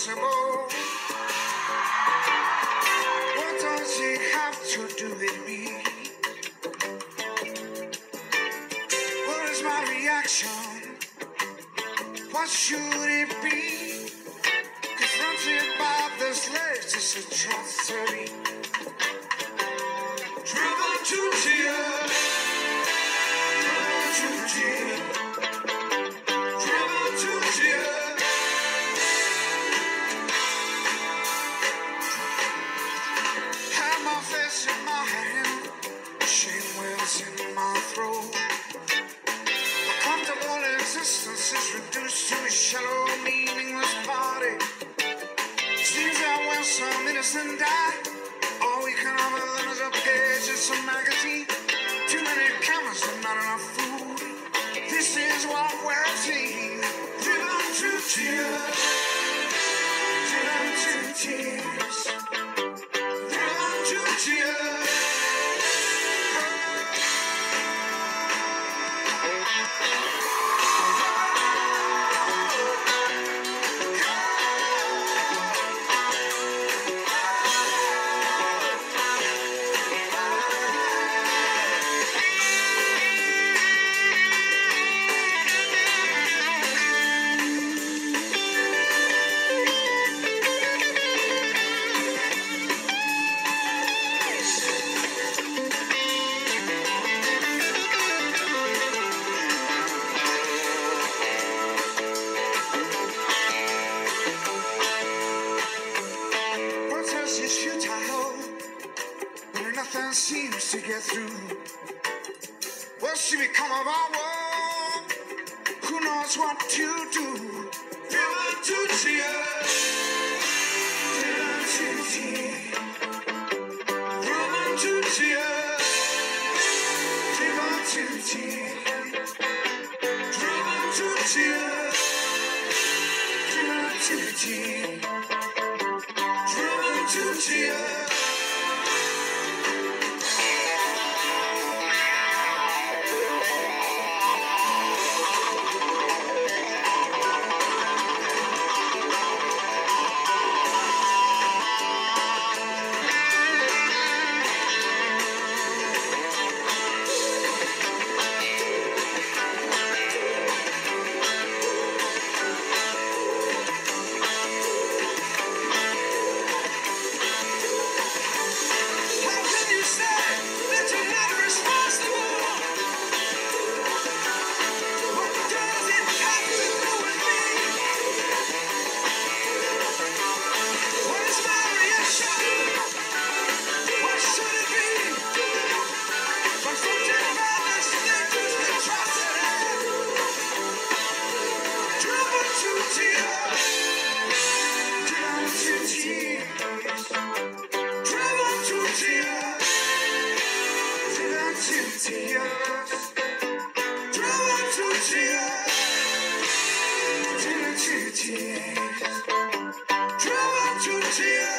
impossible. What does it have to do with me? What is my reaction? What should it be? Confronted by the slaves, it's a tragedy. Driven to tears, driven to tears, driven to tears. Have my face in my hand, shame wells in my throat. A comfortable existence is reduced to a shallow, meaningless party. Seems that when some innocent die, all we can offer them is a page in some magazine. Too many cameras and not enough food. This is what we're seeing. Driven to tears, driven to tears, driven to tears. Nothing seems to get through. What's to become of our world? Who knows what to do? Driven to tears, driven to tears, driven to tears, driven to tears, driven to tears, driven to tears, driven to tears. Tears.